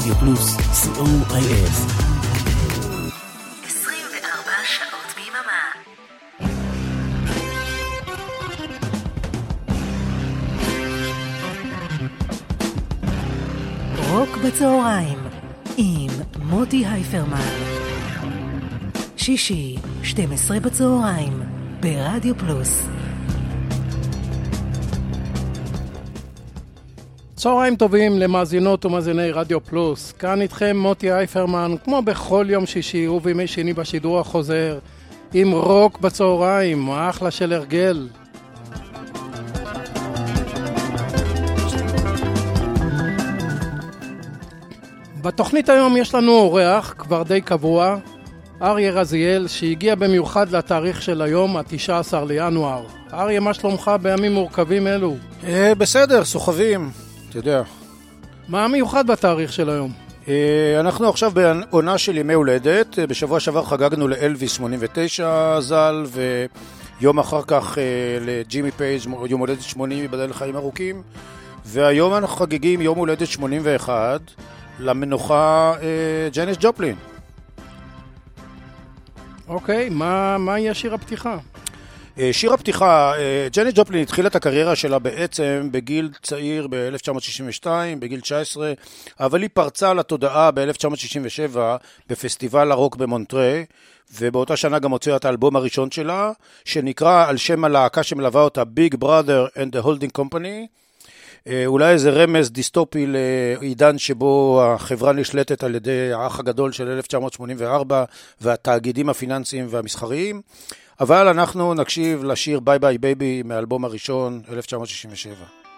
רדיו פלוס, co.il. 24 שעות ביממה. רוק בצהריים עם מוטי הייפרמן. שישי, 12 בצהריים, ברדיו פלוס. צהריים טובים למאזינות ומאזיני רדיו פלוס. כאן איתכם מוטי הייפרמן, כמו בכל יום שישי ובימי שני בשידור החוזר, עם רוק בצהריים, אחלה של הרגל. בתוכנית היום יש לנו אורח כבר די קבוע, אריה רזיאל, שהגיע במיוחד לתאריך של היום, ה-19 לינואר. אריה, מה שלומך בימים מורכבים אלו? בסדר, סוחבים, אתה יודע. מה המיוחד בתאריך של היום? אנחנו עכשיו בעונה של ימי הולדת. בשבוע שעבר חגגנו לאלוויס 89 ז"ל, ויום אחר כך לג'ימי פייג' יום הולדת 80, ייבדל לחיים ארוכים. והיום אנחנו חגגים יום הולדת 81 למנוחה ג'ניס ג'ופלין. אוקיי, מה יהיה שיר הפתיחה? שיר הפתיחה, ג'ניס ג'ופלין התחילה את הקריירה שלה בעצם בגיל צעיר ב-1962, בגיל 19, אבל היא פרצה לתודעה ב-1967 בפסטיבל הרוק במונטרי, ובאותה שנה גם הוציאה את האלבום הראשון שלה, שנקרא על שם הלהקה שמלווה אותה Big Brother and the Holding Company. אולי איזה רמז דיסטופי לעידן שבו החברה נשלטת על ידי האח הגדול של 1984 והתאגידים הפיננסיים והמסחריים, אבל אנחנו נקשיב לשיר ביי ביי בייבי מהאלבום הראשון 1967.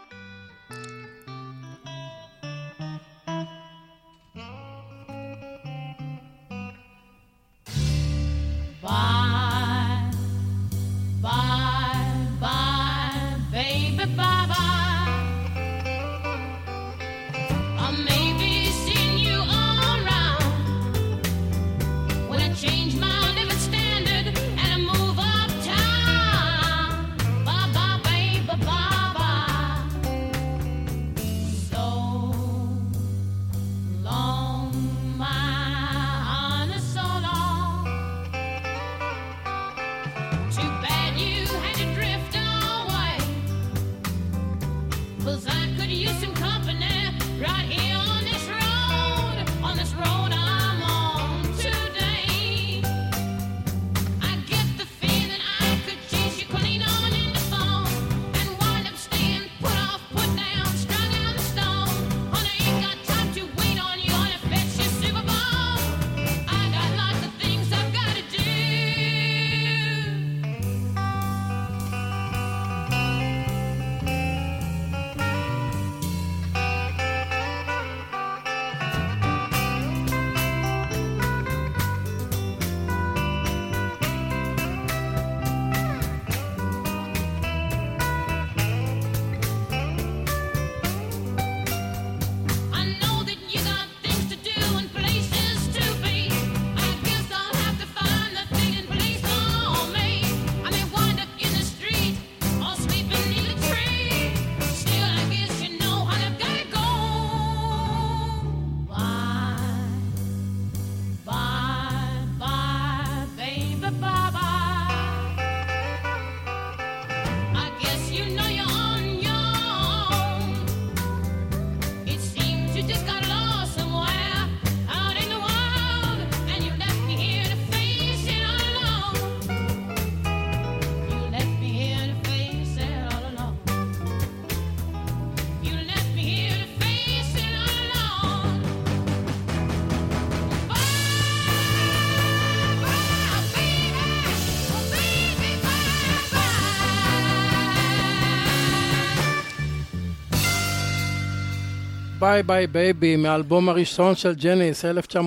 ביי ביי בייבי מהאלבום הראשון של ג'ניס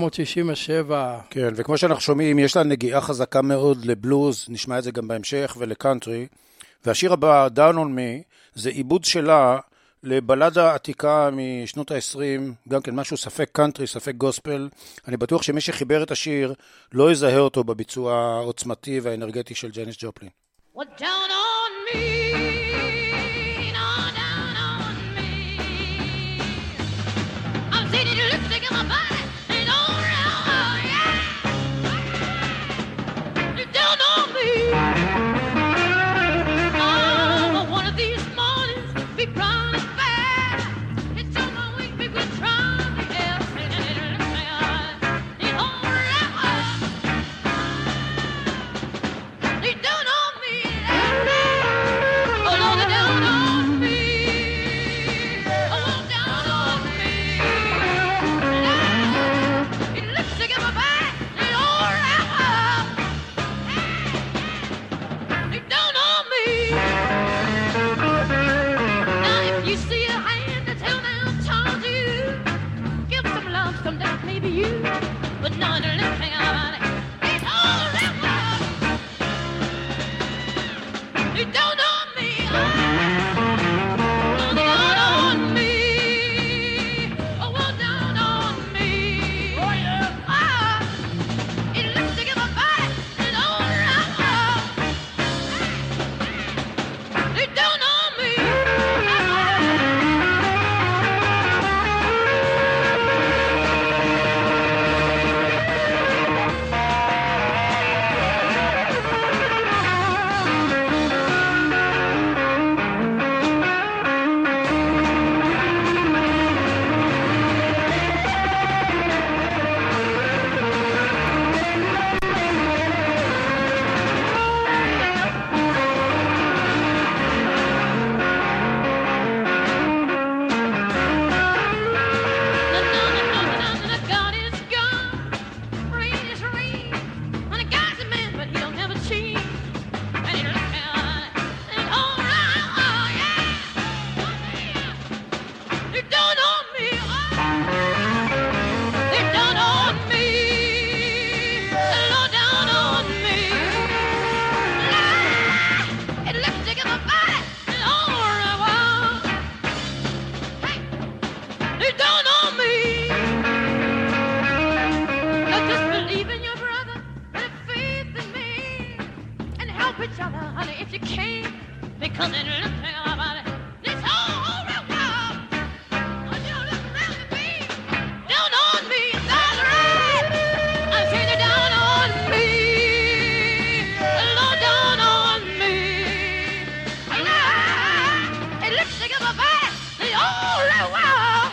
1967. כן, וכמו שאנחנו שומעים, יש לה נגיעה חזקה מאוד לבלוז, נשמע את זה גם בהמשך, ולקאנטרי. והשיר הבא, Down on Me, זה עיבוד שלה לבלדה עתיקה משנות ה-20, גם כן משהו ספק קאנטרי, ספק גוספל. אני בטוח שמי שחיבר את השיר לא יזהה אותו בביצוע העוצמתי והאנרגטי של ג'ניס ג'ופלין. Well, down on me, no, down on me. I'm sitting lipstick in my 'cause it looks like about it. This whole world, when you look around me, down on me, that's right. I say they're down on me, Lord, down on me. It looks like about it. The whole world,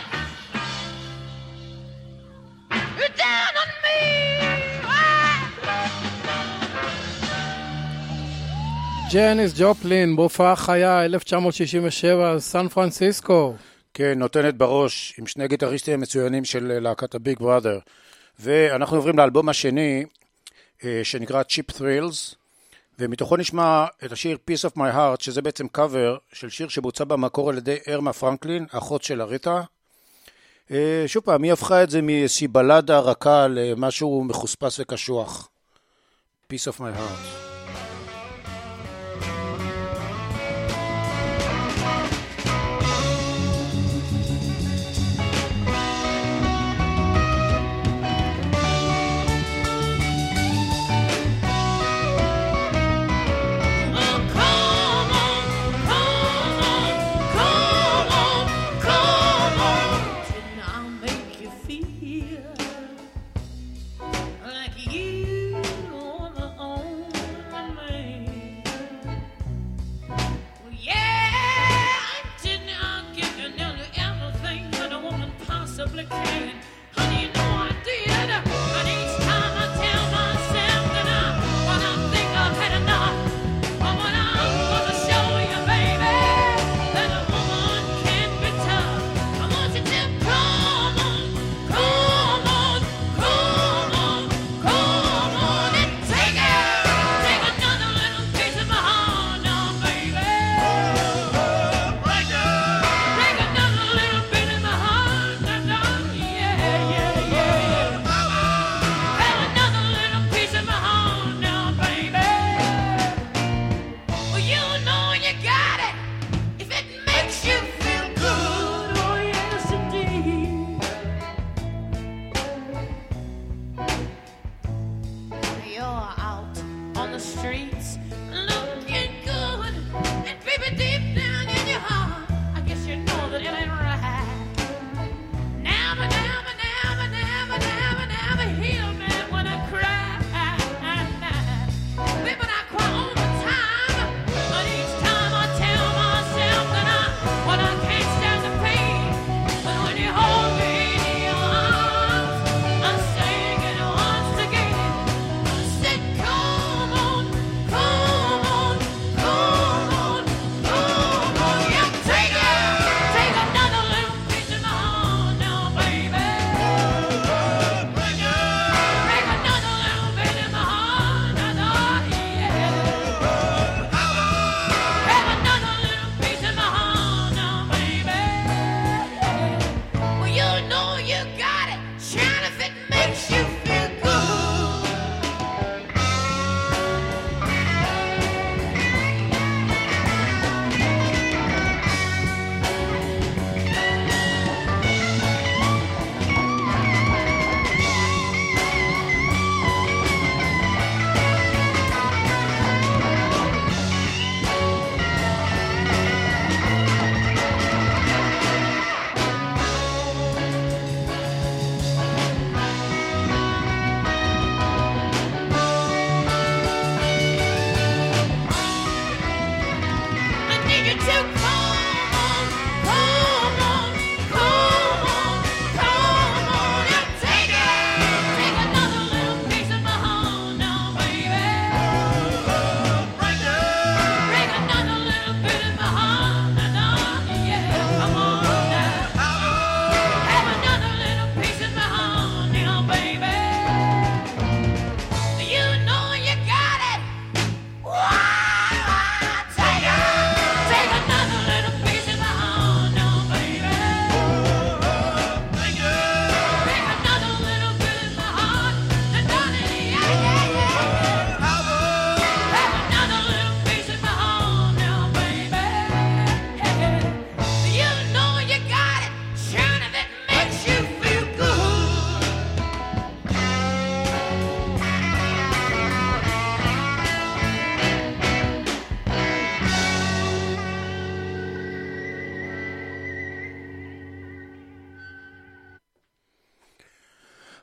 you're down on me. ג'ניס ג'ופלין, בהופעה חיה, 1967, סן פרנסיסקו. כן, נותנת בראש עם שני גיטריסטים מצוינים של להקת הביג בראדר. ואנחנו עוברים לאלבום השני, שנקרא Cheap Thrills, ומתוכו נשמע את השיר Piece of My Heart, שזה בעצם קאבר של שיר שבוצע במקור על ידי ארמה פרנקלין, אחות של אריתה. שוב פעם, היא הפכה את זה מאיזושהי בלדה רכה למשהו מחוספס וקשוח. Piece of My Heart.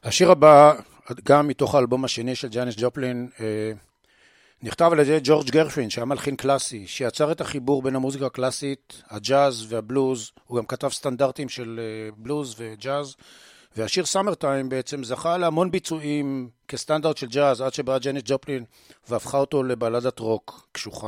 השיר הבא, גם מתוך האלבום השני של ג'אניס ג'ופלין, נכתב על ידי ג'ורג' גרשווין, שהיה מלחין קלאסי, שיצר את החיבור בין המוזיקה הקלאסית, הג'אז והבלוז. הוא גם כתב סטנדרטים של בלוז וג'אז, והשיר סאמר טיים בעצם זכה להמון ביצועים כסטנדרט של ג'אז, עד שבאה ג'אניס ג'ופלין והפכה אותו לבלדת רוק קשוחה.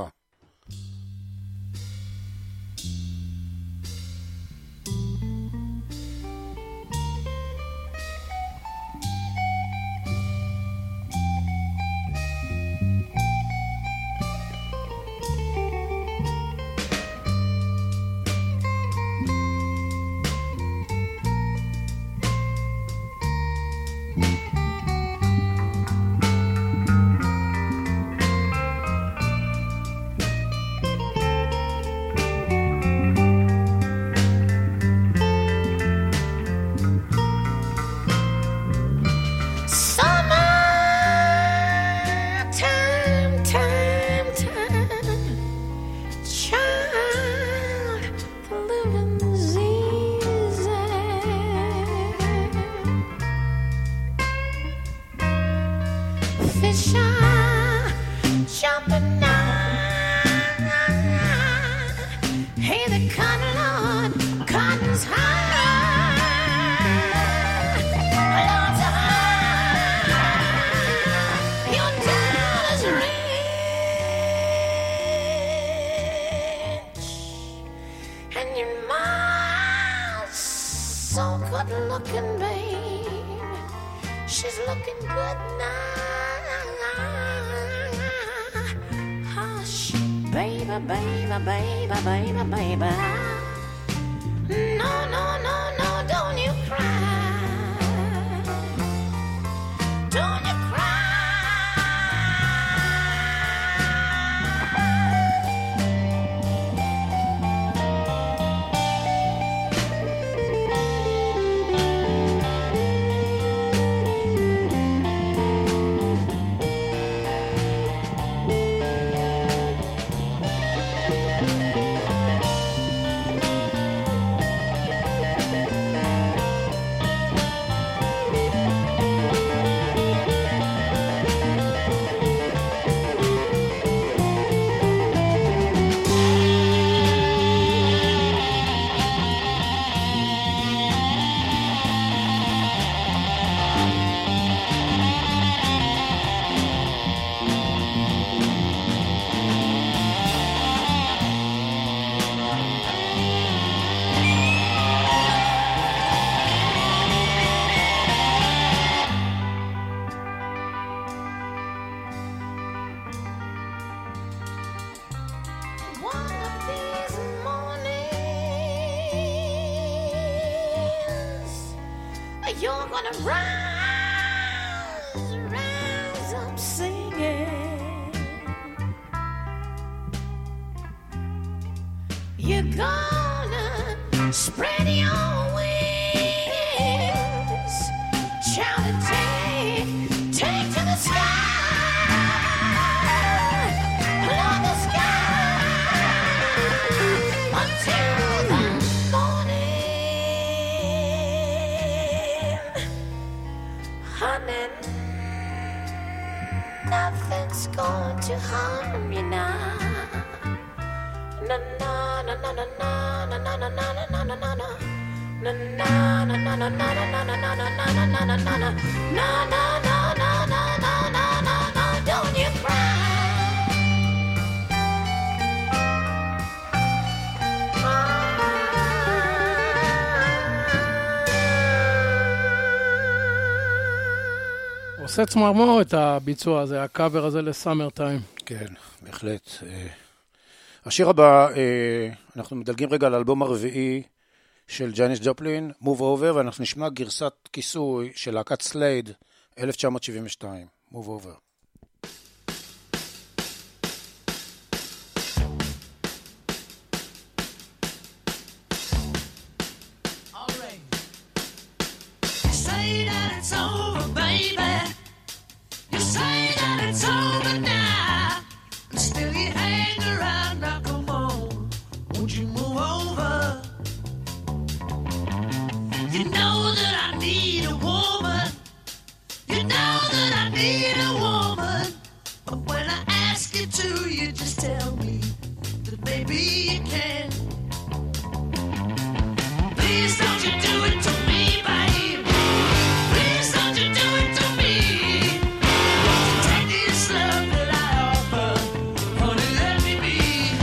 You're gonna rise up singing. You're gonna spread your wings, shout and take to the sky, love the sky until the honey, nothing's going to harm you now. Na na na na na na na na na na na na na na. Na na na na na na na na na na na na na na na na. Na na na na na na na na na. Don't you cry. עושה צמרמו את הביצוע הזה, הקאבר הזה לסאמר טיים. כן, בהחלט. השיר הבא, אנחנו מדלגים רגע על האלבום הרביעי של ג'אניס ג'ופלין, Move Over, ואנחנו נשמע גרסת כיסוי של להקת סלייד, 1972, Move Over. can. Please don't you do it to me, babe. Please don't you do it to me. Take this love that I offer, honey, let me be.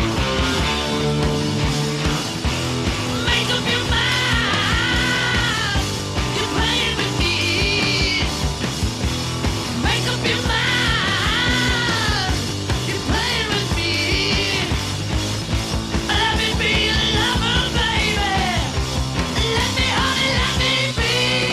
Make up your mind, you're playing with me. Make up your mind, you're playing with me. Let me be a lover, baby. Let me, honey, let me be.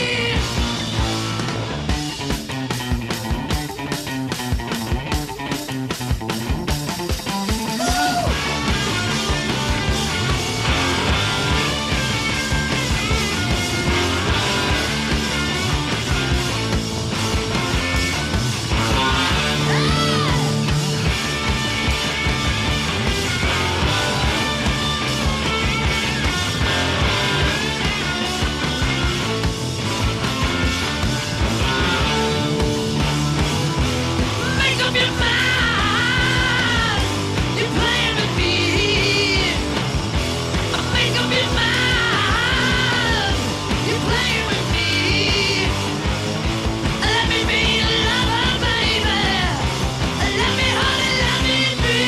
Make up your mind, you're playing with me. Make up your mind, you're playing with me. Let me be a lover, baby. Let me, honey, let me be.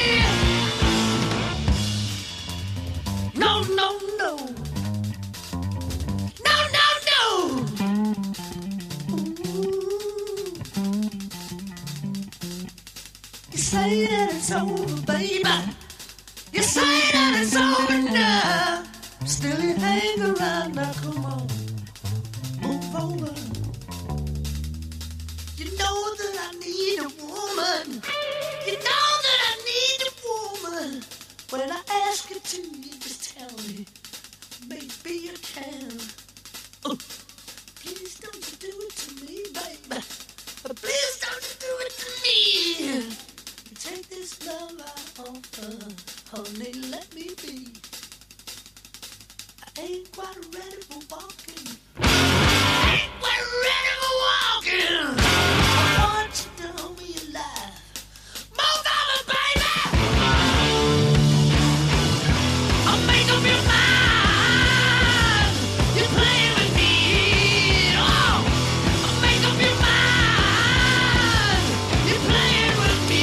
No, no, no. No, no, no. You say that it's over, baby. You say that it's over now. Still you hang around now, come on. Move over. You know that I need a woman. You know that I need a woman. When I ask you to, you just tell me. Maybe you can. Oh, please don't you do it to me, baby. Please don't you do it to me. You take this love I offer, honey, let me be. I ain't quite ready for walking. I ain't quite ready for walking. I want you to hold me alive. Move over, baby. I'll make up your mind. You're playing with me. Oh, I'll make up your mind. You're playing with me.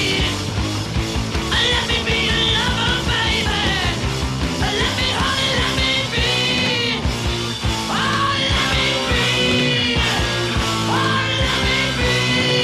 Let me be a lover, baby. Let me, honey, let me be. Oh, let me be. Oh, let me be.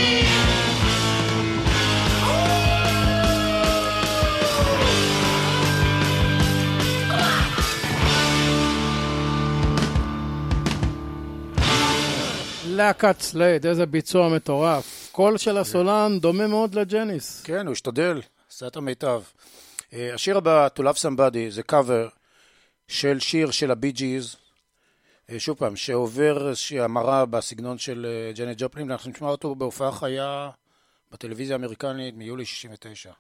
להקת סלייד, איזה ביצוע מטורף. קול של הסולן דומה מאוד לג'ניס. כן, הוא השתדל, עשה את המיטב. השיר הבא, To Love Somebody, זה קאבר של שיר של הבי ג'יז, שוב פעם, שעובר איזושהי המרה בסגנון של ג'נט ג'ופלין, אנחנו נשמע אותו בהופעה חיה בטלוויזיה האמריקנית מיולי 69.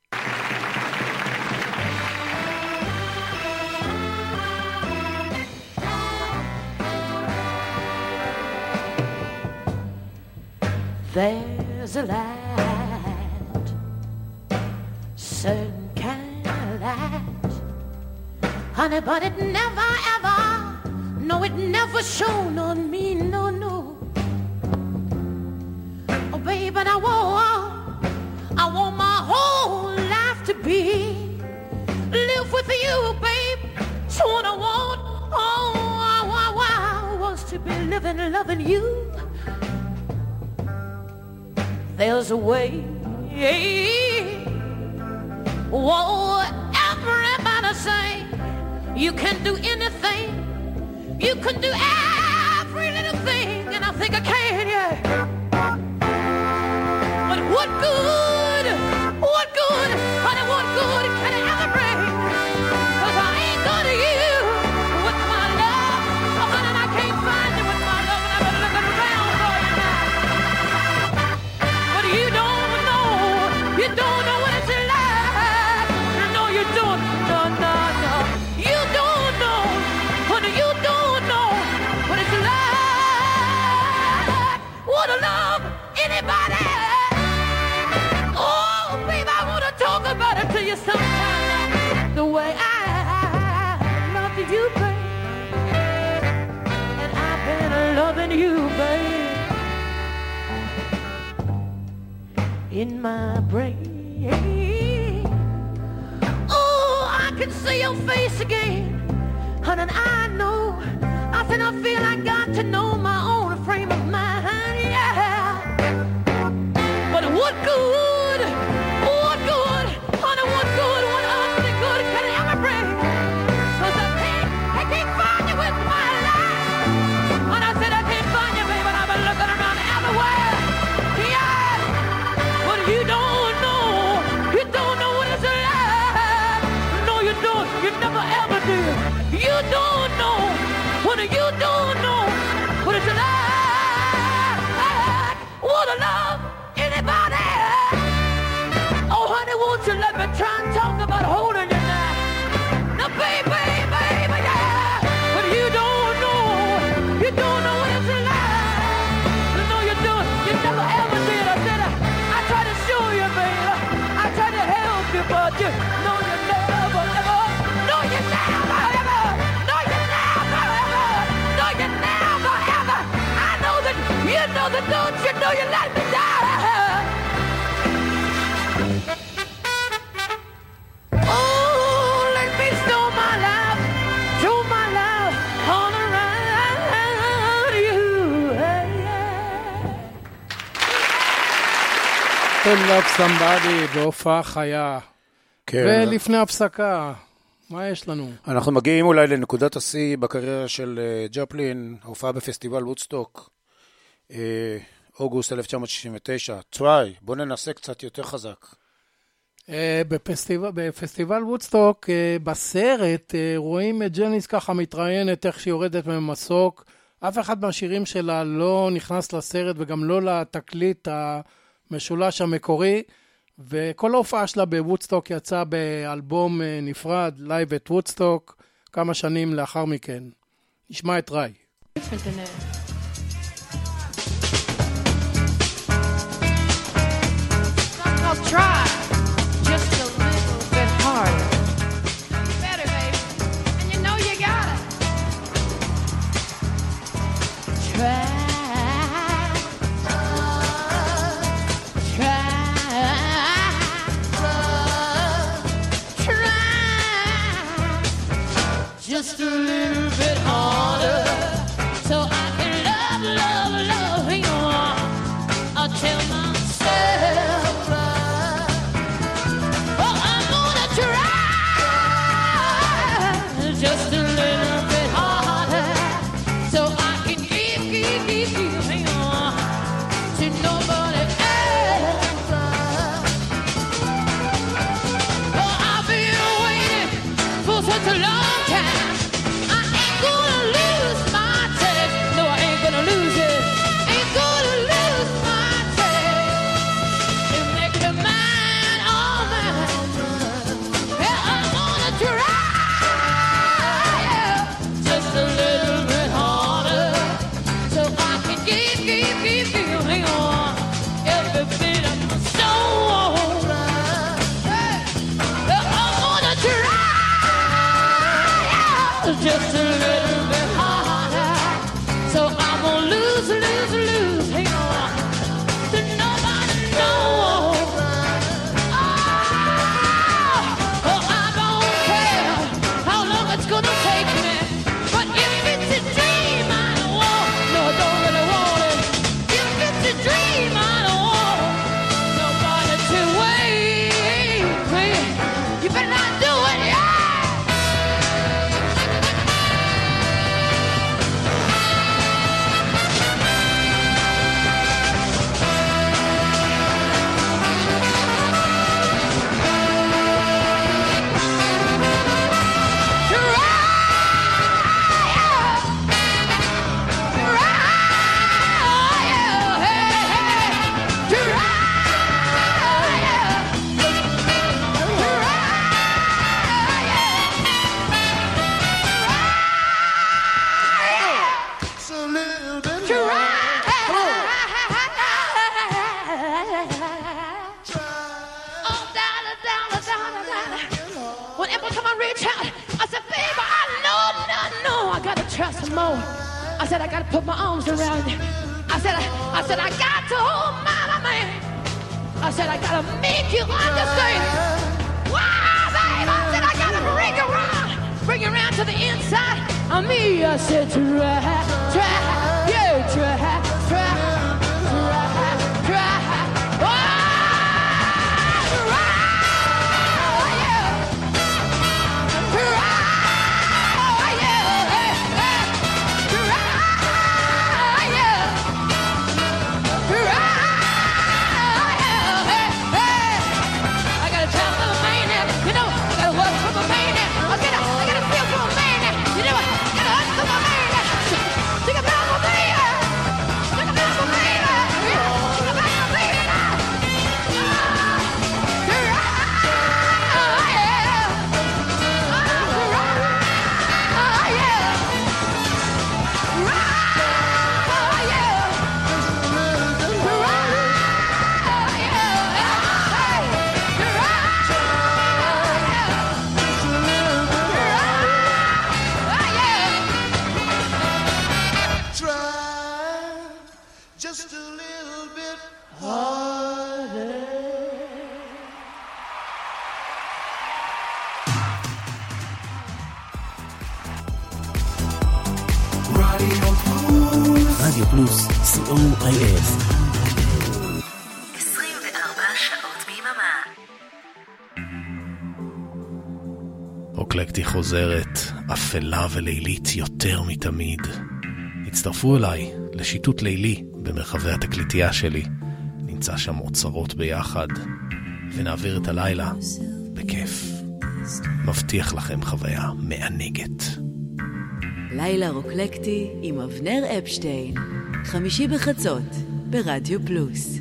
There's a light, certain kind of light, honey, but it never ever, no, it never shone on me, no, no. Oh, baby, I want my whole life to be live with you, babe. So what I want, I want to be living, loving you. There's a way. Whoa, everybody say you can do anything. You can do every little thing, and I think I can, yeah. But what good, honey, what good can it ever bring? 'Cause I ain't good to you with my love. Oh, honey, I can't find you with my love, and I've been looking around for you now. But you don't know what it's like. No, you don't, no. You don't know, honey, you don't know what it's like. in my brain. Oh, I can see your face again, honey, and I know. I said I feel I got to know my own frame of mind, yeah. But what good, honey, what good, what ugly good can it ever bring? 'Cause I can't find you with my life. And I said I can't find you, baby, and I've been looking around everywhere. Yeah, but you don't know what it's like. No, you don't, you never ever did. You don't know, honey, you don't know what it's like. Would I love anybody? Oh, honey, won't you let me try and talk about holding you now? Now, baby, yeah. But you don't know what it's like. No, you don't. You never ever did. I said, I tried to show you, baby. I tried to help you, but you know you never, ever. No, you never, ever. No, you never, ever. No, you never, ever. I know that you know that, don't you know you let me down. Oh, let me show my love all around you. To Love Somebody בהופעה חיה. כן. ולפני הפסקה, מה יש לנו? אנחנו מגיעים אולי לנקודת השיא בקריירה של ג'ופלין, ההופעה בפסטיבל וודסטוק, אוגוסט 1969. טריי, בוא ננסה קצת יותר חזק. בפסטיבל וודסטוק, בסרט, רואים את ג'ניס ככה מתראיינת איך שהיא יורדת ממסוק. אף אחד מהשירים שלה לא נכנס לסרט וגם לא לתקליט המשולש המקורי. וכל ההופעה שלה בוודסטוק יצאה באלבום נפרד, Live at Woodstock, כמה שנים לאחר מכן. נשמע את ריי. I'll try just a little bit harder. Better, baby. And you know you got it. Try. Just a little bit harder, so I can love you. I'll tell myself, oh, I'm gonna try just a little bit harder, so I can give to nobody else. Oh, I've been waiting for such a long time. Just a little bit harder, so I'm gonna lose, hang on, to nobody knows. Oh, I don't care how long it's gonna take me, but if it's a dream I don't want, no, I don't really want it. If it's a dream I don't want nobody to wait, you better not do it, yeah. Trust more. I said I gotta put my arms around you. I said I got to hold my man. I said, I gotta make you understand. Wow, babe, I said, I gotta bring you around to the inside of me. I said, try, yeah, try. רדיו פלוס, COIF. 24 שעות ביממה. רוקלקטי חוזרת, אפלה ולילית יותר מתמיד. הצטרפו אליי לשיטוט לילי במרחבי התקליטייה שלי. נמצא שם אוצרות ביחד, ונעביר את הלילה בכיף. מבטיח לכם חוויה מענגת. לילה רוקלקטי עם אבנר אפשטיין, חמישי בחצות ברדיו פלוס.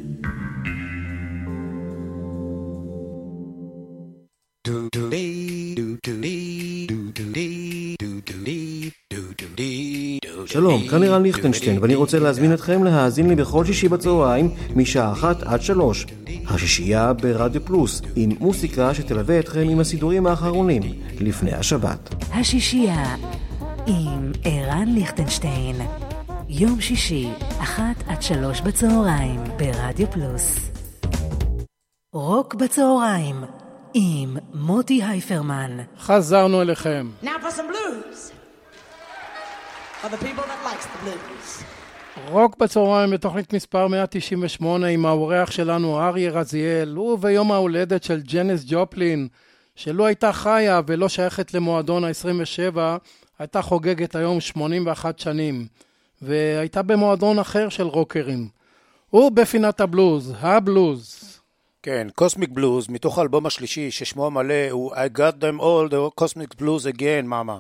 שלום, כאן לירן ליכטנשטיין, ואני רוצה להזמין אתכם להאזין לי בכל שישי בצהריים משעה 1 עד 3. השישייה ברדיו פלוס, עם מוסיקה שתלווה אתכם עם הסידורים האחרונים לפני השבת. השישייה עם ערן ליכטנשטיין, יום שישי 1 עד 3 בצהריים ברדיו פלוס. רוק בצהריים עם מוטי הייפרמן. חזרנו אליכם. Now for some blues. For the people that likes the blues. רוק בצהריים בתוכנית מספר 198 עם האורח שלנו אריה רזיאל, הוא ביום ההולדת של ג'ניס ג'ופלין, שלא הייתה חיה ולא שייכת למועדון ה-27, הייתה חוגגת היום 81 שנים, והייתה במועדון אחר של רוקרים. הוא בפינת הבלוז, הבלוז. כן, קוסמיק בלוז, מתוך האלבום השלישי ששמו המלא הוא I got them all the cosmic blues again, מאמה.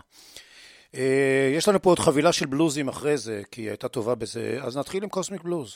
יש לנו פה עוד חבילה של בלוזים אחרי זה, כי היא הייתה טובה בזה, אז נתחיל עם קוסמיק בלוז.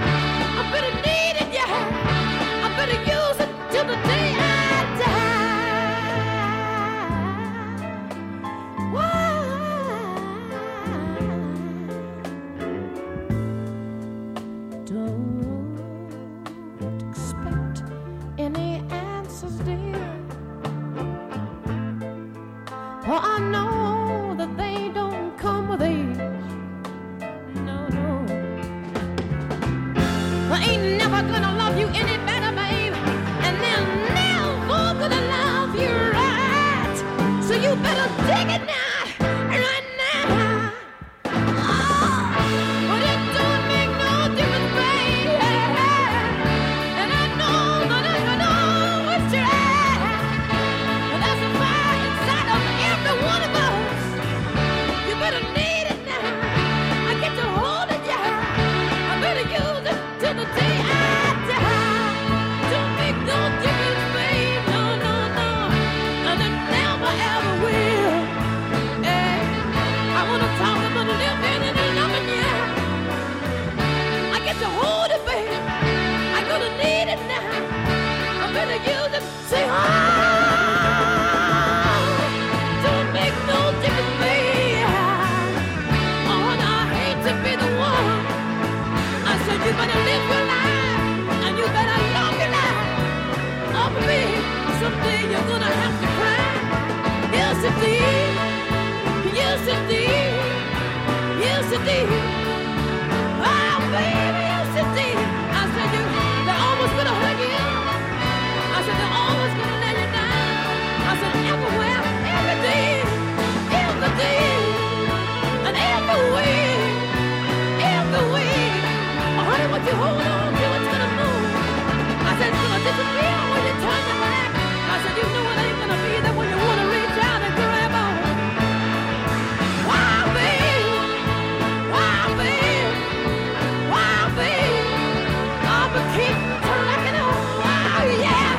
Till the day I die. somebody live in and loving you. I get to hold it, baby. I'm gonna need it now. I'm gonna use it. Say, don't make no difference, baby. Oh, and I hate to be the one. I said you better live your life and you better love your life. Oh, baby, someday you're gonna have to cry. Yes, indeed. Yes, indeed. Yes, indeed. Oh, baby, yes, indeed. I said they're almost gonna hurt you. I said they're always gonna let you down. I said everywhere, every day, and every way. Oh, honey, what you hold on to, it's gonna move. I said it's gonna disappear when you turn your back. I said you know it ain't gonna be there when you wanna reach out and grab on. Wow, baby, oh, but keep trucking on. Wow, yeah.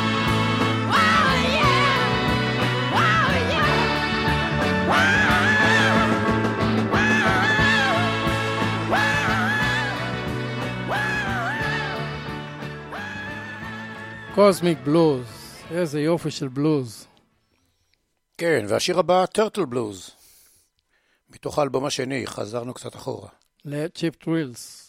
קוסמיק בלוז, איזה יופי של בלוז. כן, והשיר הבא, טרטל בלוז. מתוך האלבום השני, חזרנו קצת אחורה. לצ'יפ טרילס.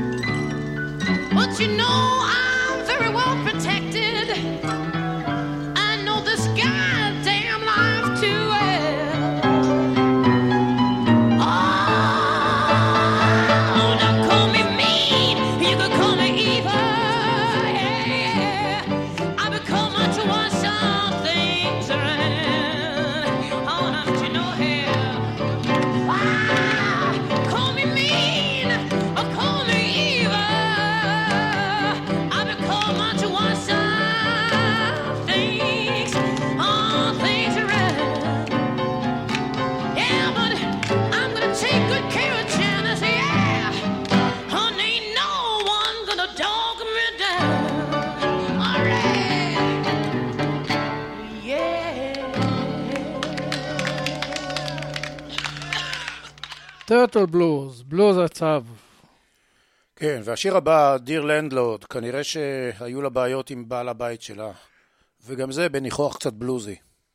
But you know I'm very well protected. טרטל בלוז, בלוז הצב. כן, והשיר הבא, דיר לנדלורד, כנראה שהיו לה בעיות עם בעל הבית שלה, וגם זה בניחוח קצת בלוזי.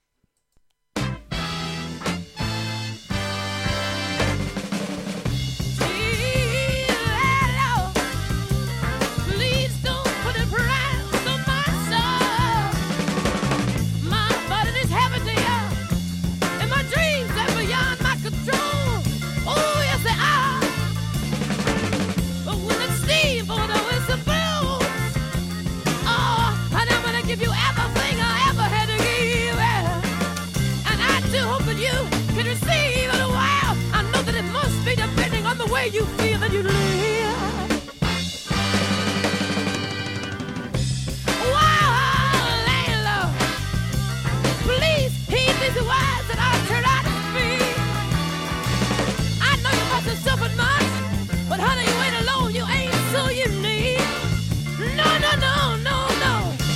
You feel that you live. Wow, landlord, please heed these words that I turn out to speak. I know you must have suffered much, but honey, you ain't alone. You ain't so unique. No, no, no, no, no.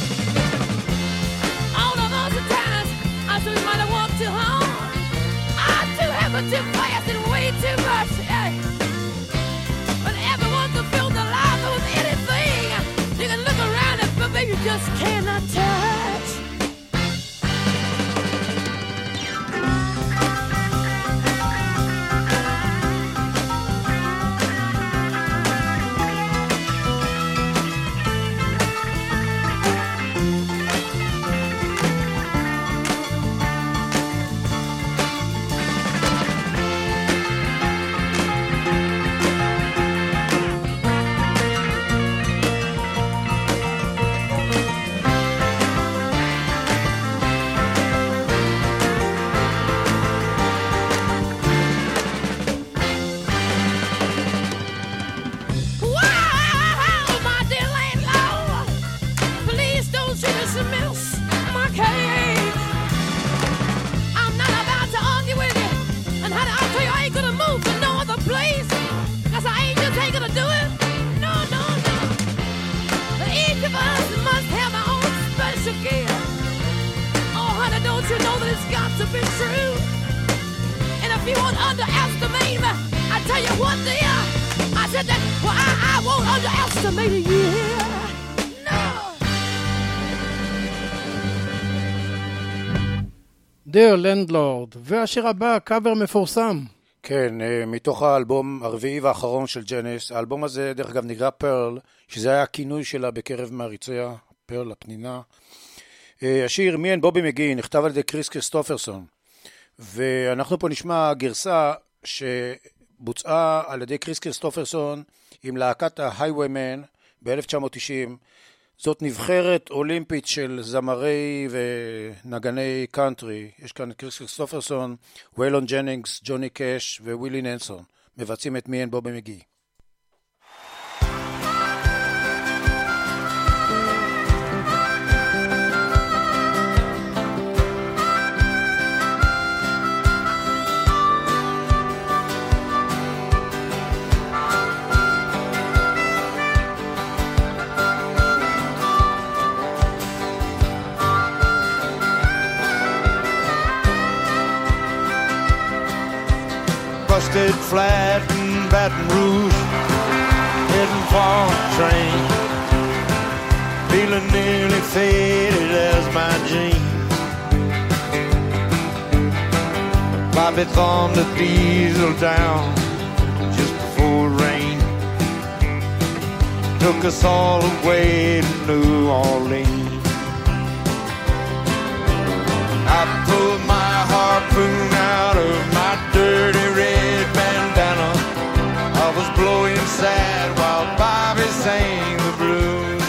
All of those times I thought you might have walked too hard. I'm too heavy, too fast, and way too much. Hey. You just cannot touch. Dear Landlord, והשיר הבא, קאבר מפורסם. כן, מתוך האלבום הרביעי והאחרון של ג'נס. האלבום הזה דרך אגב נקרא פרל, שזה היה הכינוי שלה בקרב מעריציה, פרל הפנינה. השיר מי אין בובי מגי נכתב על ידי קריס קריסטופרסון, ואנחנו פה נשמע גרסה שבוצעה על ידי קריס קריסטופרסון עם להקת ההייוויימן ב-1990. זאת נבחרת אולימפית של זמרי ונגני קאנטרי. יש כאן קריס קריסטופרסון, ויילון ג'נינגס, ג'וני קאש ווילי ננסון. מבצעים את מי אין בובי מגי. Busted flat in Baton Rouge, heading for a train, feeling nearly faded as my jeans. Bobby thumbed the diesel down just before it rained, took us all away to New Orleans. I pulled my harpoon out of my dirty red bandana. I was blowing sad while Bobby sang the blues.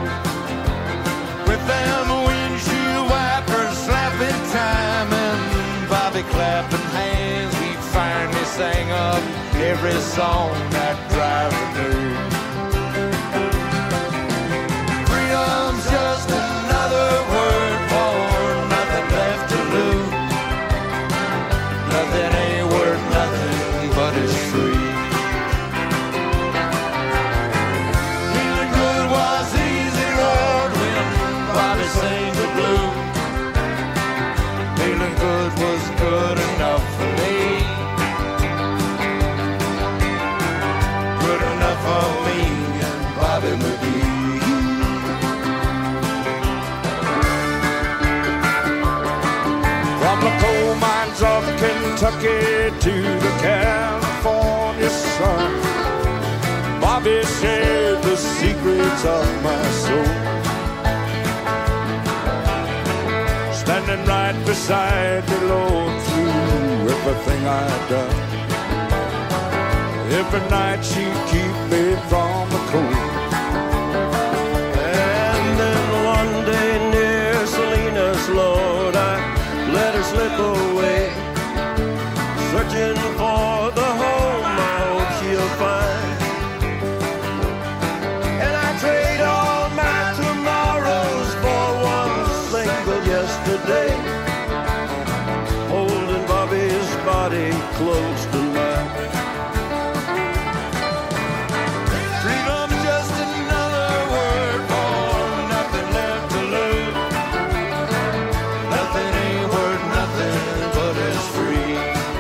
With them windshield wipers slapping time and Bobby clapping hands, we finally sang up every song that driver knew. Freedom's just another word for nothing left to lose. Nothing ain't worth nothing but it's free. Feeling good was easy road when Bobby sang the blues. Feeling good was good enough for me. Kentucky to the California sun. Bobby shared the secrets of my soul, standing right beside me, Lord, through everything I'd done. Every night she'd keep me from the cold. And then one day near Salinas, Lord, I let her slip away, searching for the home I hope she'll find. And I trade all my tomorrows for one single yesterday, holding Bobby's body close to mine. Freedom's just another word for nothing left to lose. Nothing ain't worth nothing but it's free.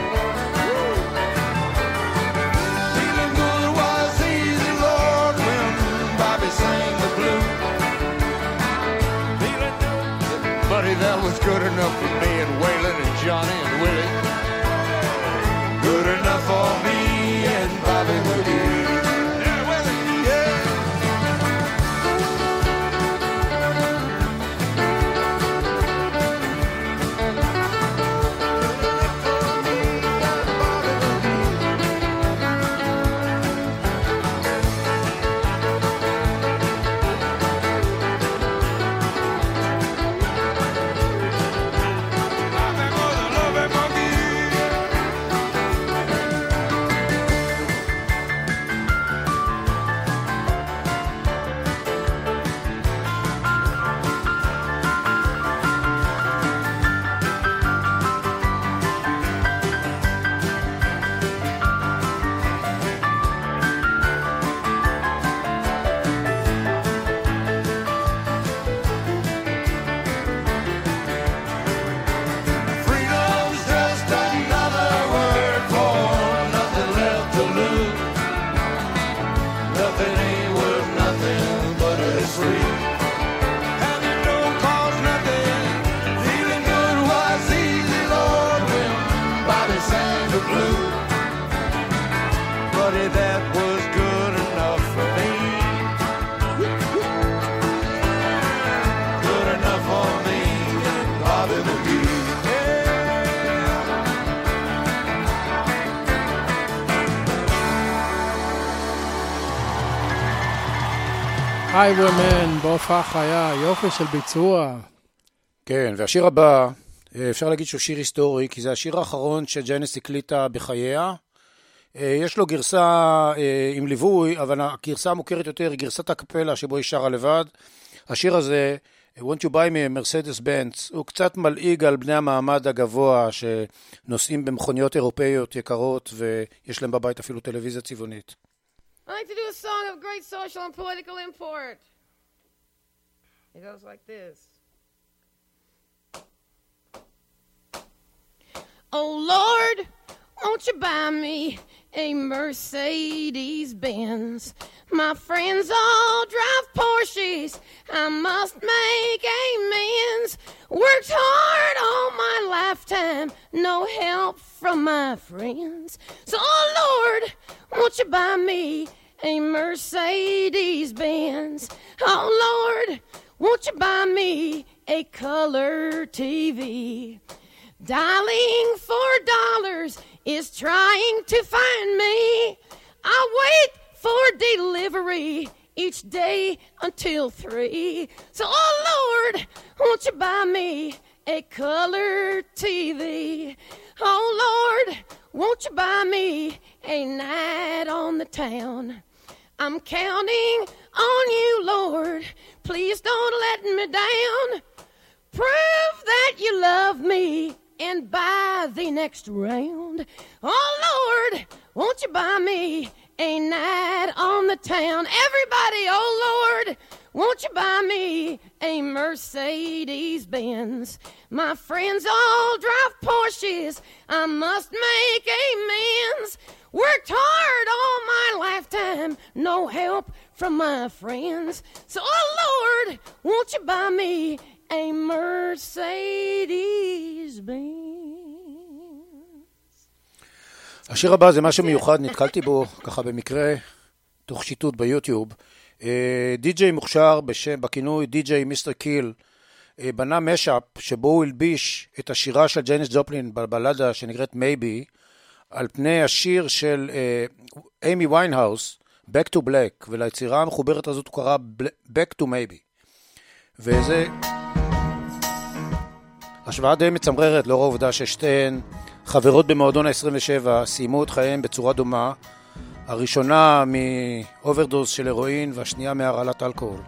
Feeling good was easy, Lord, when Bobby sang the blues. Feeling good, buddy, that was good enough for me and Waylon and Johnny and Willie. Good enough for me and Bobby McGee. Highwayman, בהופעה חיה, יופי של ביצוע. כן, והשיר הבא, אפשר להגיד שהוא שיר היסטורי, כי זה השיר האחרון שג'נס הקליטה בחייה. יש לו גרסה עם ליווי, אבל הגרסה המוכרת יותר היא גרסת הקפלה שבו היא שרה לבד. השיר הזה, Won't You Buy Me a Mercedes-Benz, הוא קצת מלעיג על בני המעמד הגבוה שנוסעים במכוניות אירופאיות יקרות ויש להם בבית אפילו טלוויזיה צבעונית. I like to do a song of great social and political import. It goes like this. Oh Lord, won't you buy me a Mercedes-Benz? My friends all drive Porsches, I must make amends. Worked hard all my lifetime, no help from my friends. So oh Lord, won't you buy me a Mercedes-Benz? Oh Lord, won't you buy me a color TV? Dialing $4 is trying to find me. I wait for delivery each day until 3. So oh Lord, won't you buy me a color TV? Oh Lord, won't you buy me a night on the town? I'm counting on you, Lord. Please don't let me down. Prove that you love me and buy the next round. Oh Lord, won't you buy me a night on the town? Everybody, oh Lord, won't you buy me a Mercedes-Benz? My friends all drive Porsches, I must make amends. Worked hard all my lifetime, no help from my friends. So oh Lord, won't you buy me a Mercedes-Benz? השיר הבא זה משהו מיוחד, נתקלתי בו ככה במקרה, תוך שיטוט ביוטיוב. די-ג'יי מוכשר בכינוי די-ג'יי מיסטר קיל, בנה משאפ שבו הוא הלביש את השירה של ג'ייניס ג'ופלין בבלדה שנקראת מייבי, על פני השיר של אימי ויינהאוס, Back to Black, וליצירה המחוברת הזאת הוא קרא Back to Maybe. וזה השוואה די מצמררת לאור העובדה ששתיהן חברות במועדון ה-27 סיימו את חייהם בצורה דומה, הראשונה מאוברדוז של הרואין והשנייה מהרעלת אלכוהול.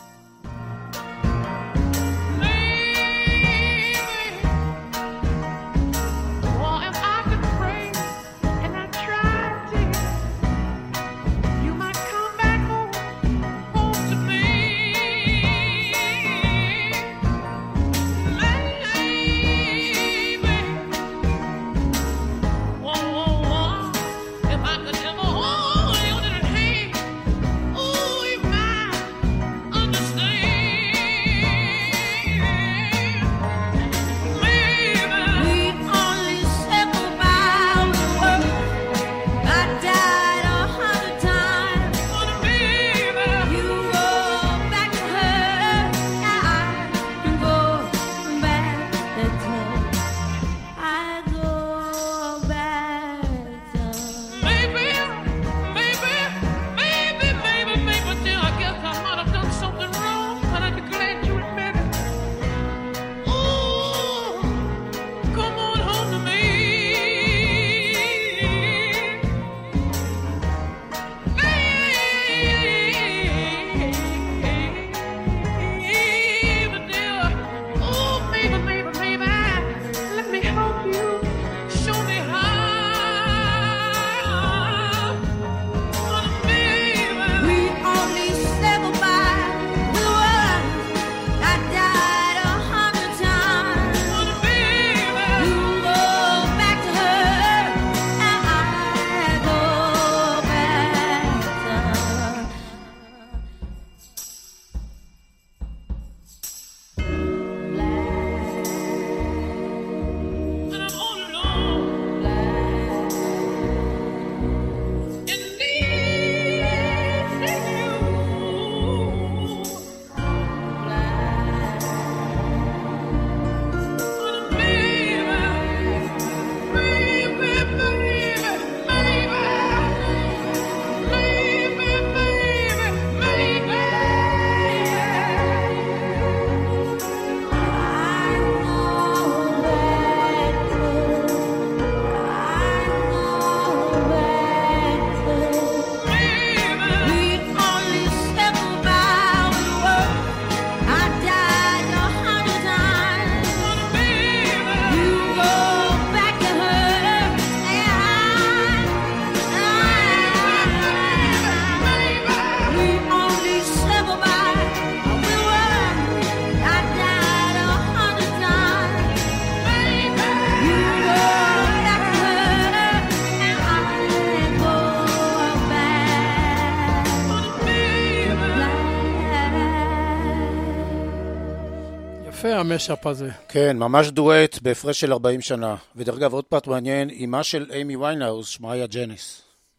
המשאפ הזה. כן, ממש דואט בהפרש של 40 שנה. ודרך אגב, עוד פרט מעניין, אמה של אימי ויינהאוס, שמה היה ג'ניס.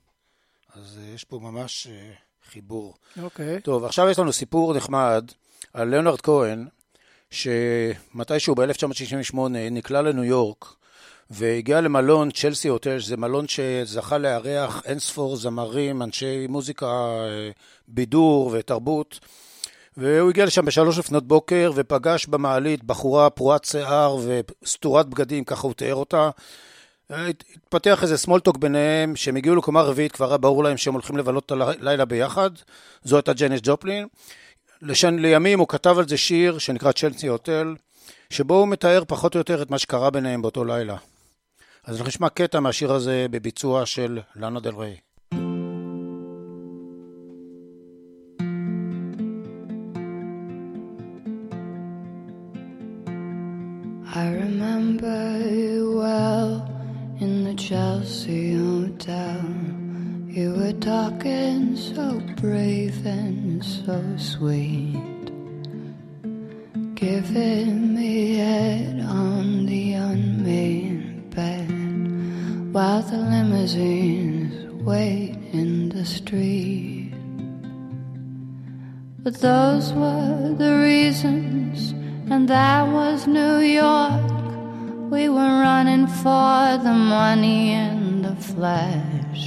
אז יש פה ממש חיבור. אוקיי. טוב, עכשיו יש לנו סיפור נחמד על ליאונרד כהן, שמתישהו ב-1968 נקלע לניו יורק, והגיע למלון צ'לסי הוטל, זה מלון שזכה לארח אינספור זמרים, אנשי מוזיקה, בידור ותרבות, והוא הגיע לשם ב3 לפנות בוקר ופגש במעלית בחורה פרועת שיער וסתורת בגדים, ככה הוא תיאר אותה. התפתח איזה סמולטוק ביניהם, שהם הגיעו לקומה רביעית, כבר היה ברור להם שהם הולכים לבלות את הלילה ביחד. זו הייתה ג'ניס ג'ופלין. לימים הוא כתב על זה שיר שנקרא צ'לסי הוטל, שבו הוא מתאר פחות או יותר את מה שקרה ביניהם באותו לילה. אז אנחנו נשמע קטע מהשיר הזה בביצוע של לאנה דל ריי. I remember you well in the Chelsea Hotel. You were talking so brave and so sweet, giving me head on the unmade bed while the limousines wait in the street. But those were the reasons, and that was New York. We were running for the money and the flash,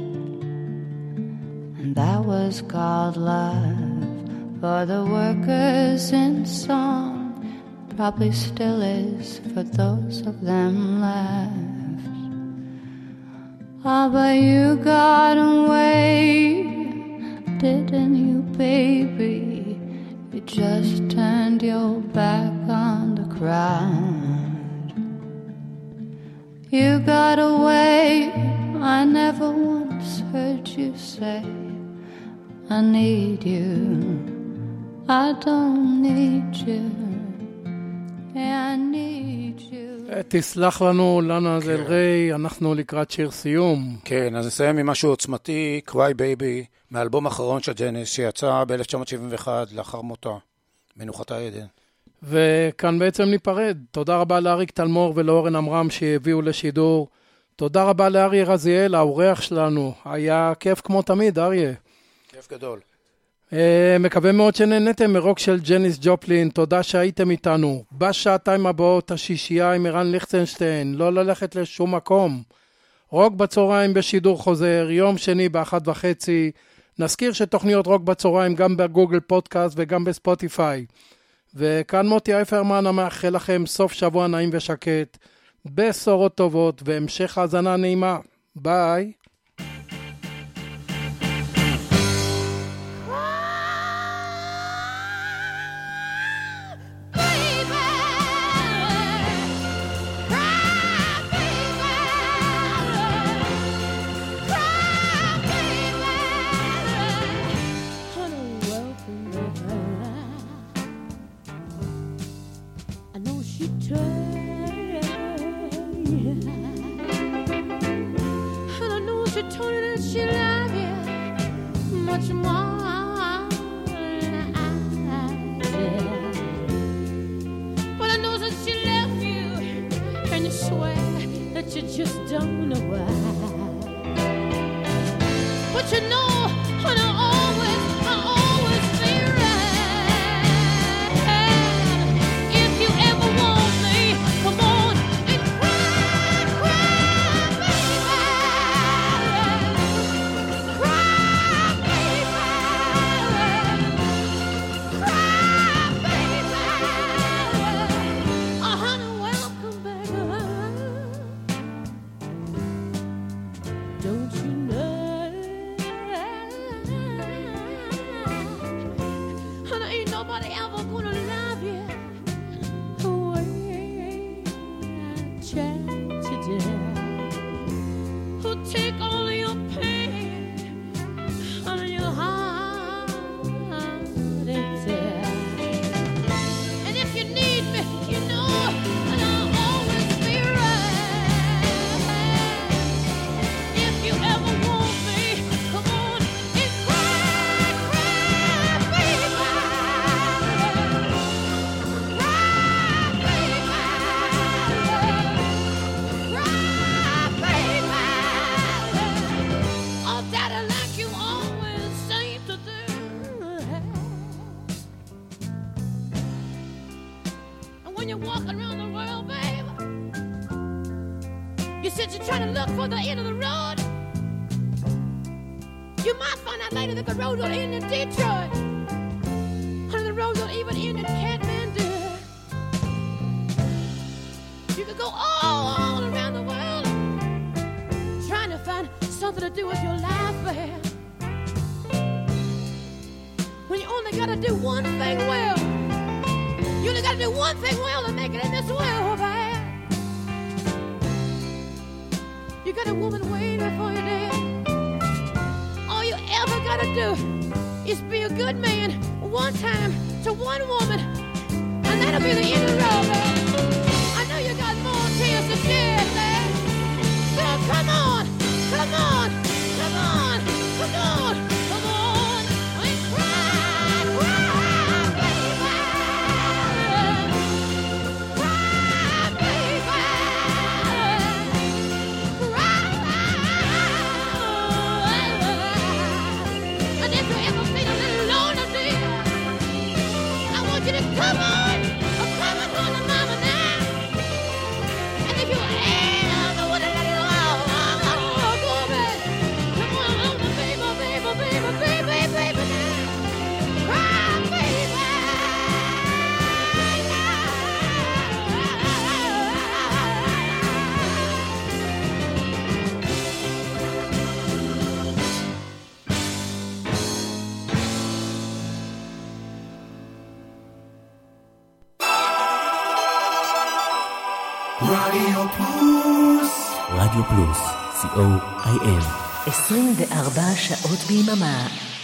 and that was called love. For the workers in song, probably still is for those of them left. Ah, but you got away, didn't you, baby? You just turned your back on the crowd. You got away, I never once heard you say, I need you. I don't need you, I need you. תסלח לנו, לנה דל ריי, אנחנו לקראת שיר סיום. כן, אז נסיים עם משהו עוצמתי, Cry Baby, מהאלבום האחרון של ג'ניס, שיצא ב-1971 לאחר מותה, מנוחתה עדן. וכאן בעצם ניפרד. תודה רבה לאריק תלמור ולאורן אמרם שהביאו לשידור. תודה רבה לאריה רזיאל, האורח שלנו. היה כיף כמו תמיד, אריה. כיף גדול. מקווה מאוד שנהנתם מרוק של ג'ניס ג'ופלין. תודה שהייתם איתנו. בשעתיים הבאות השישייה עם ערן ליכטנשטיין. לא ללכת לשום מקום. רוק בצהריים בשידור חוזר, יום שני ב-1:30. נזכיר שתוכניות רוק בצהריים גם בגוגל פודקאסט וגם בספוטיפיי. וכאן מוטי אייפרמן המאחל לכם סוף שבוע נעים ושקט, בשורות טובות והמשך האזנה נעימה. ביי. Just don't know why. But you know, and I always be right. If you ever want me, come on and cry, baby. Cry, baby. Cry, baby. Oh, honey, welcome back. Don't you know? And ain't nobody ever gonna love you the way I tried to do. Who'll take all of your pain out of your heart and tear. And if you need me, you know, and I'll always be right. If you ever want me, come on and cry, baby. Cry, baby. Oh, daddy, like you always seem to do. And when you're walking around the world, baby, you said you're trying to look for the end of the road. You might find out later that the road don't end in Detroit. And the road don't even end in Kathmandu. You could go all around the world trying to find something to do with your life, babe. When you only gotta do one thing well. You only gotta do one thing well to make it in this world, babe. You got a woman waiting for you there. All you ever gotta do is be a good man one time to one woman, and that'll be the end of the road, man. I know you got more tears to shed, man. So come on, come on, come on, come on, come on, and cry, baby. Cry, baby. Cry, רדיו פלוס. רדיו פלוס, co.il 24 שעות ביממה.